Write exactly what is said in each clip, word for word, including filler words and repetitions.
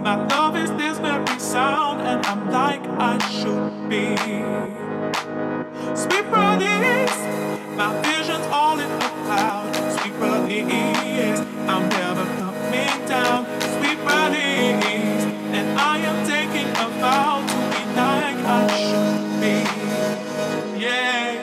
My love is this very sound, and I'm like I should be. Sweet release, my vision's all in a cloud. Sweet release, I'm never coming down. Sweet release, and I am taking a vow to be like I should be. Yeah.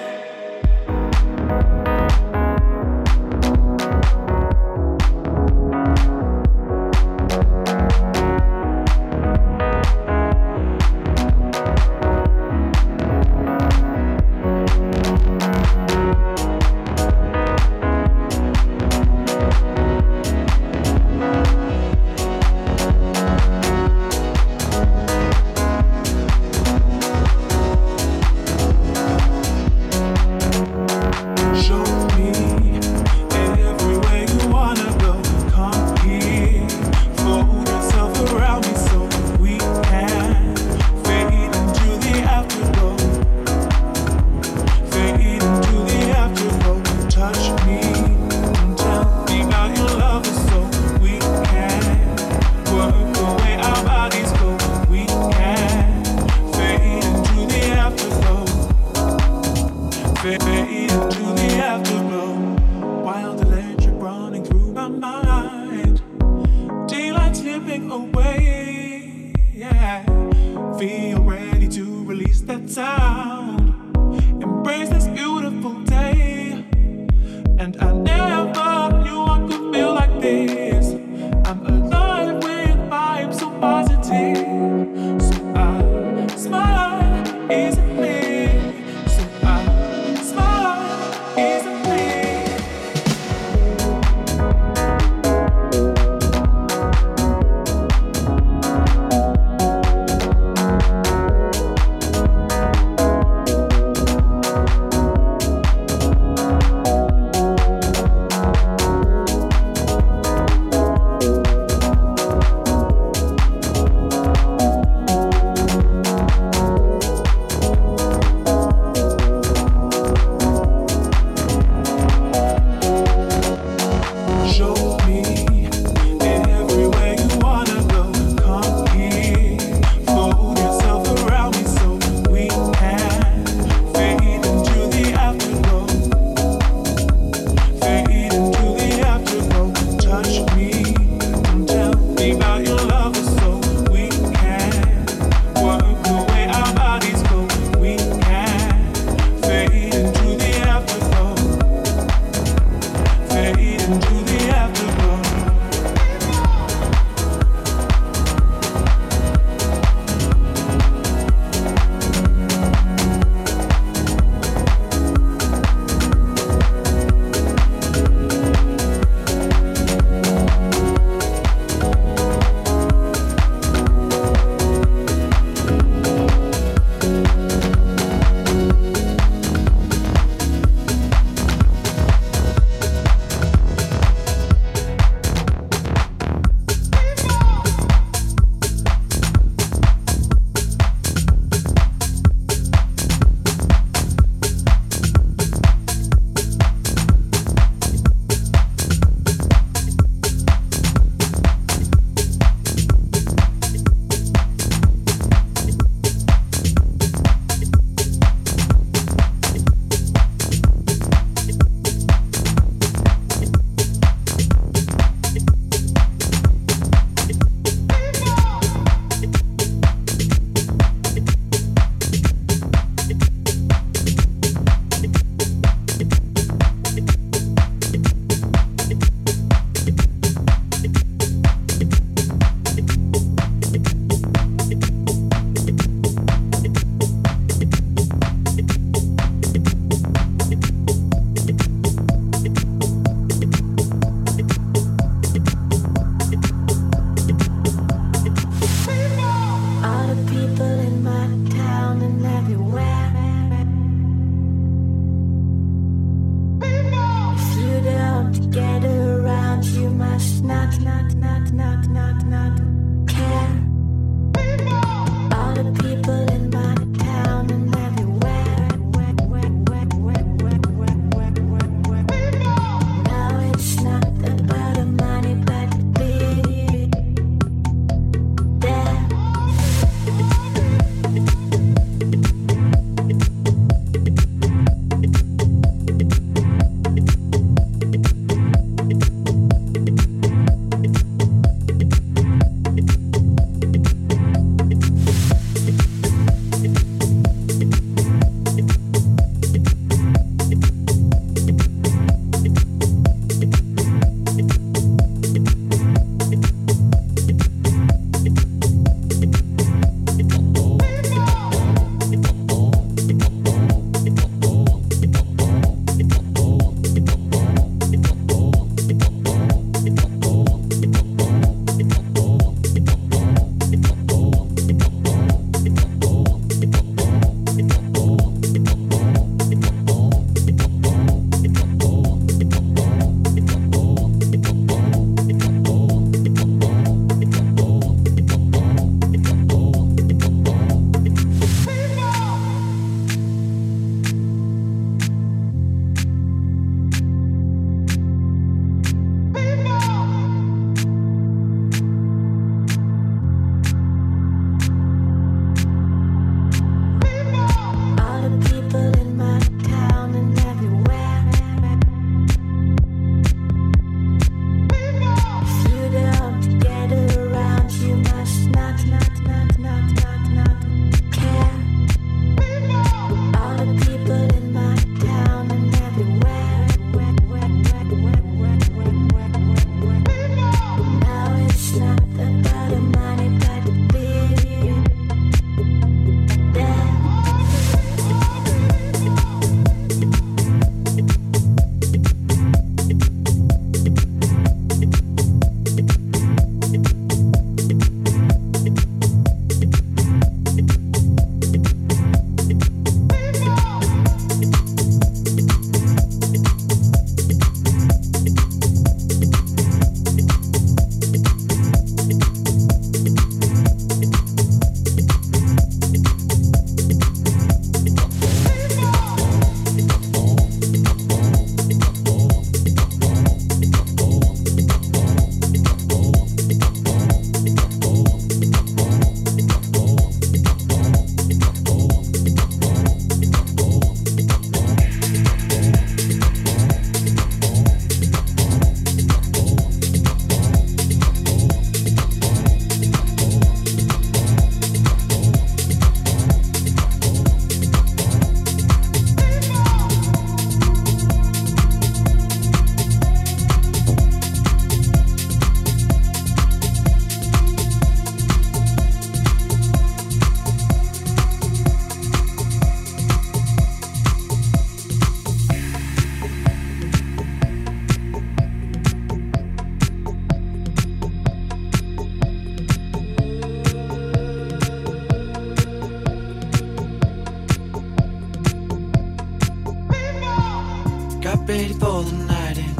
ready for the night in.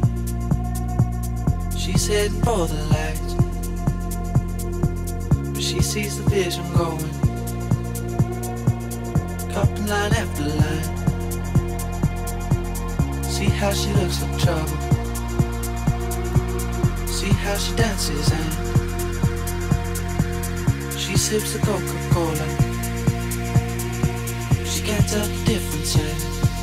She's heading for the lights, but she sees the vision going, cupping line after line. See how she looks like trouble, see how she dances and she sips the Coca-Cola. She can't tell the difference yet.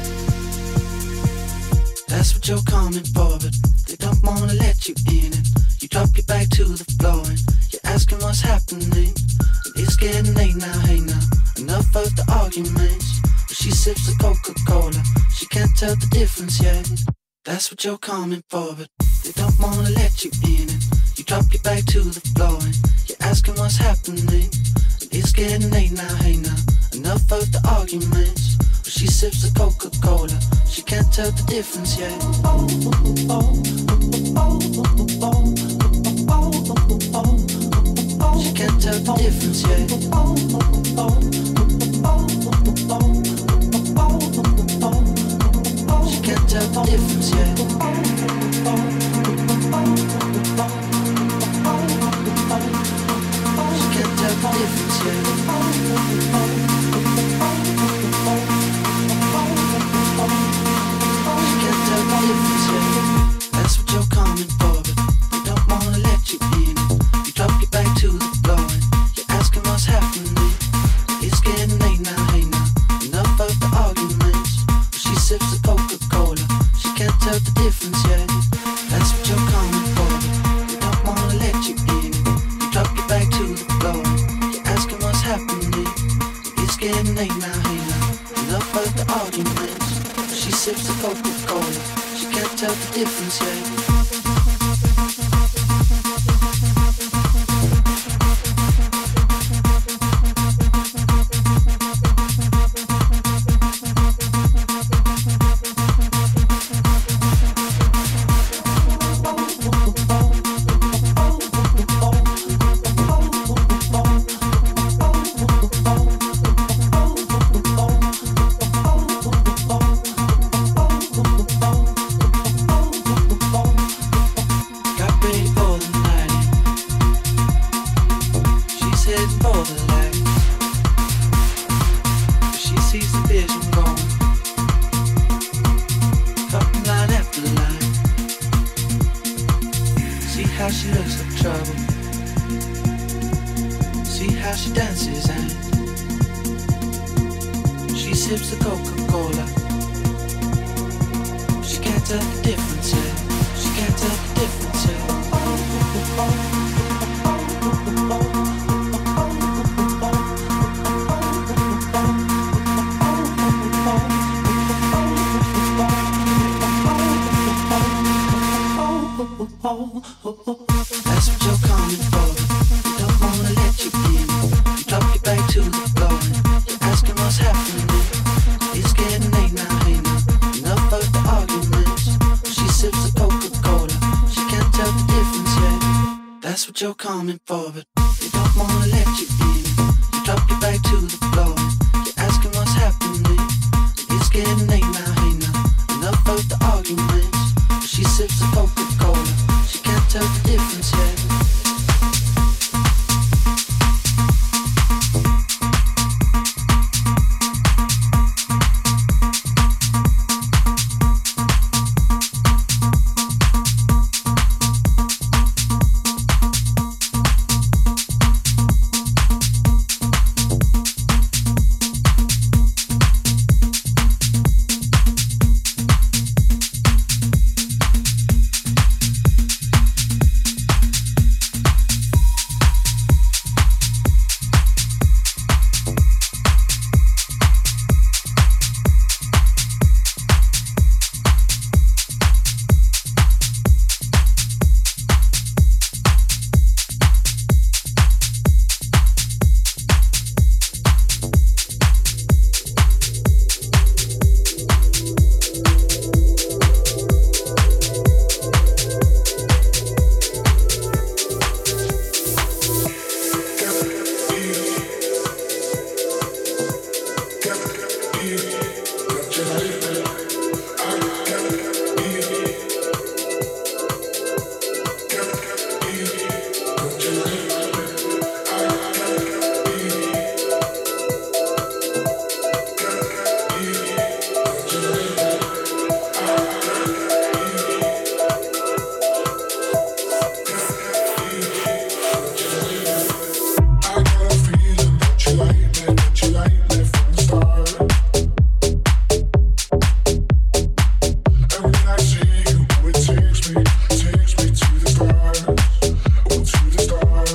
That's what you're coming for, but they don't wanna let you in it. You drop your back to the floor and you're asking what's happening. It's getting late now, hey now, enough of the arguments. But she sips the Coca-Cola, she can't tell the difference yet. That's what you're coming for, but they don't wanna let you in it. You drop your back to the floor and you're asking what's happening. It's getting late now, hey now, enough of the arguments. But she sips the Coca-Cola, she can't tell the difference yet. She can't tell the difference yet. She can't tell the difference yet. She can't tell the difference yet. She can't tell the difference yet. That's what you're coming for, but they don't wanna let you in. You drop your back to the floor and you're asking what's happening. It's getting late now, hey now, enough of the arguments. But she sips the Coca-Cola, she can't tell the difference yet. That's what you're coming for, but they don't wanna let you in. You drop your back to the floor and you're asking what's happening. It's getting late now, hey now, enough of the arguments. But she sips the Coca-Cola, she can't tell the difference yet. You're coming for, but they don't wanna let you in. You drop your back to the floor and you're asking what's happening. It's getting late now, hey now, enough of the arguments. But she sips the Coca-Cola, she can't tell the difference yet.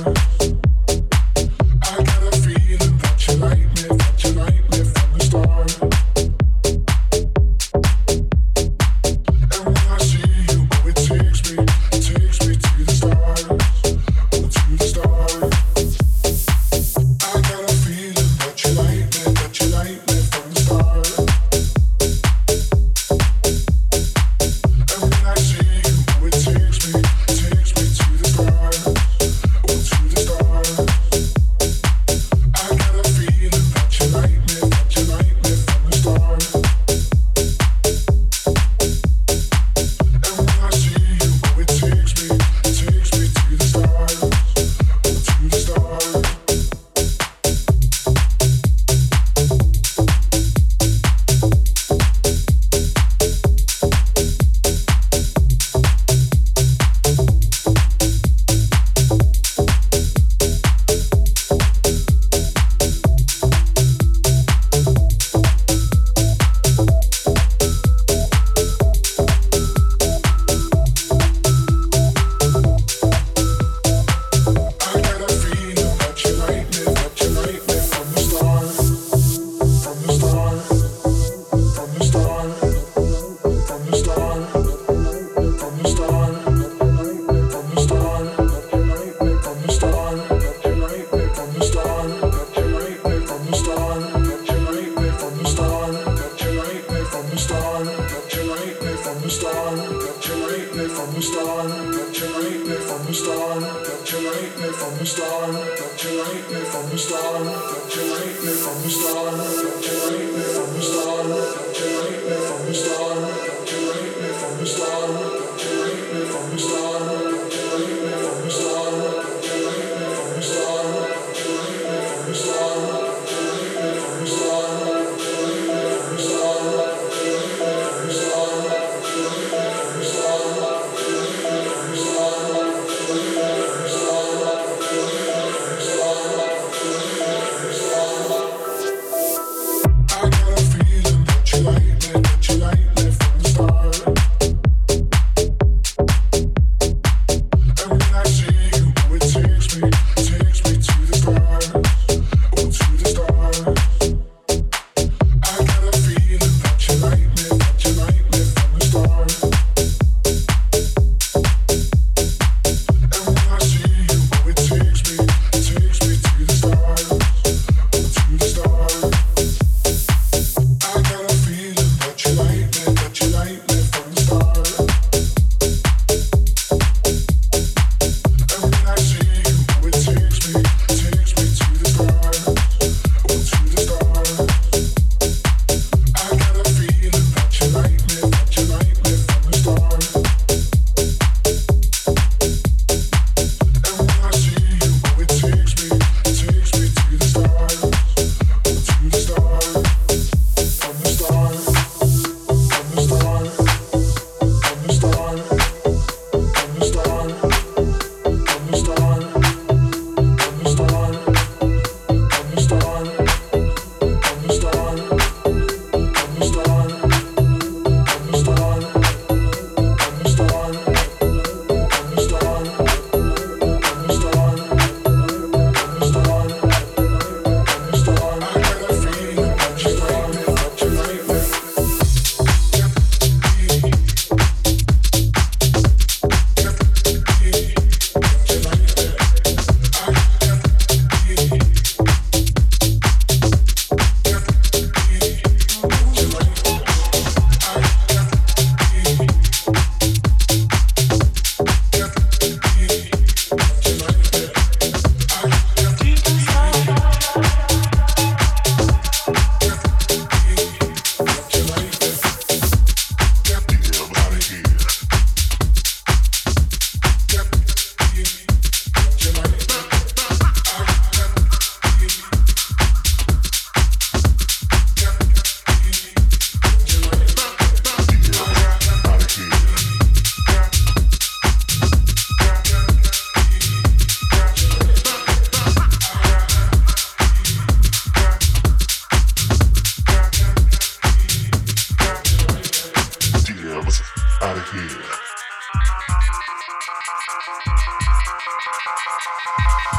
Out of here.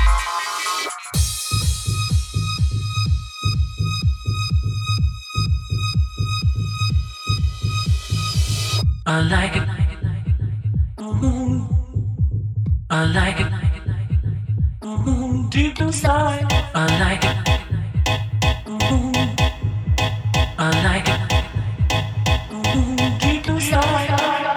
I like it. Mm-hmm. I like it. Mm-hmm. Deep inside. I like it. Mm-hmm. I like it. Mm-hmm. Deep inside.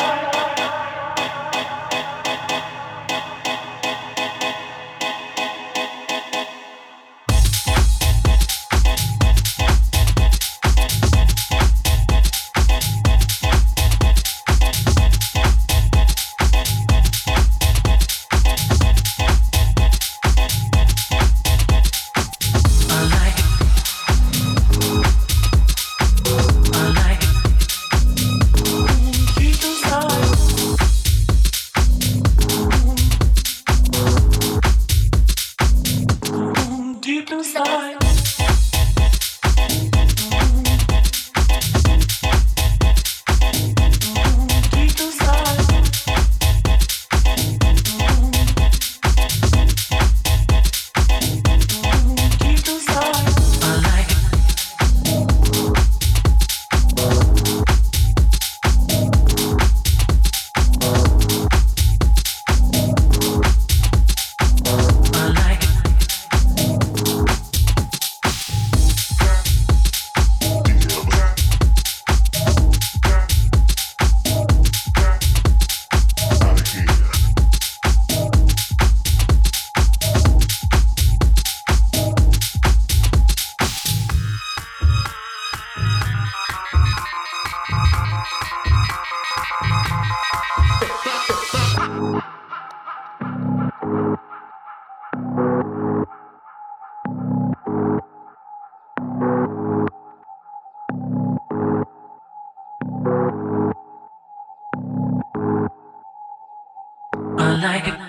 I like it.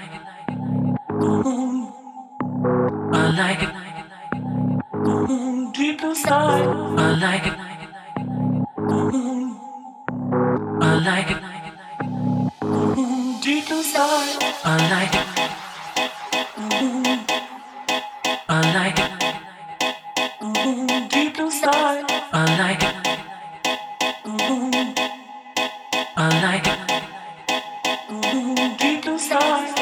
Mm-hmm. I like it. Mm-hmm. Deep inside. I like it. Mm-hmm. I like it. Mm-hmm. Deep inside. I like it. Mm-hmm. I like it. Mm-hmm. Deep inside. I like it. Mm-hmm. I like it. Mm-hmm. Deep inside.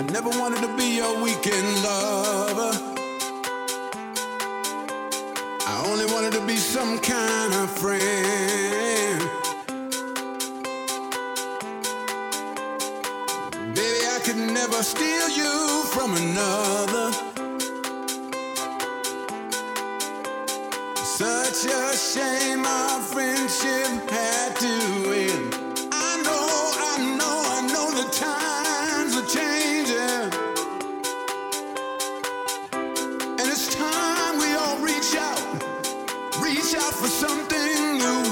never wanted to be your weekend lover. I only wanted to be some kind of friend. Baby, I could never steal you from another. Such a shame our friendship had to end. I know, I know, I know the times are changing. And it's time we all reach out, reach out for something new.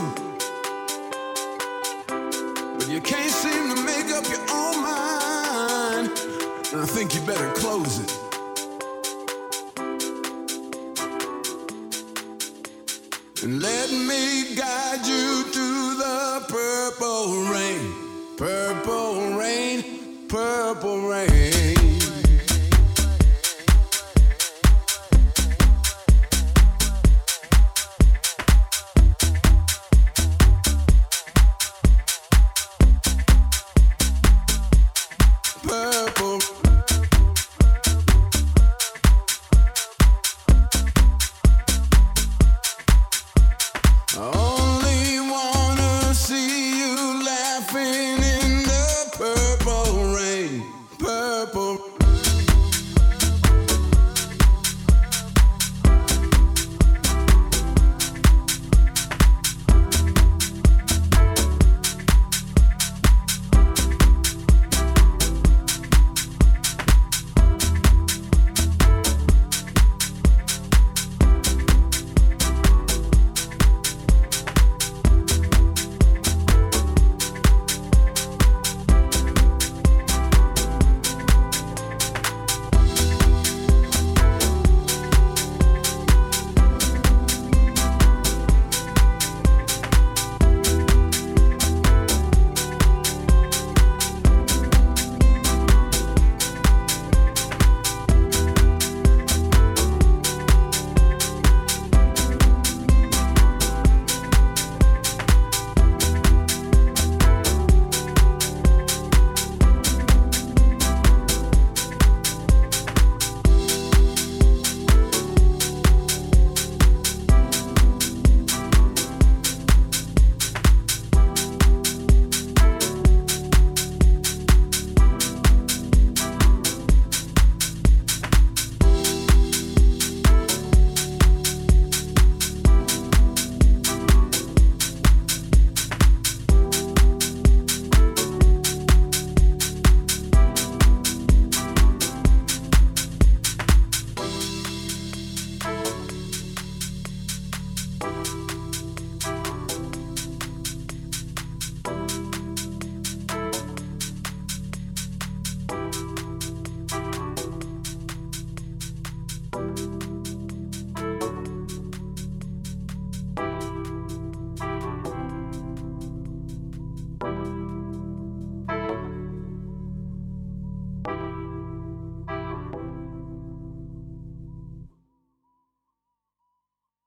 But you can't seem to make up your own mind, and I think you better close it. And let me guide you through the purple rain, purple rain, purple rain.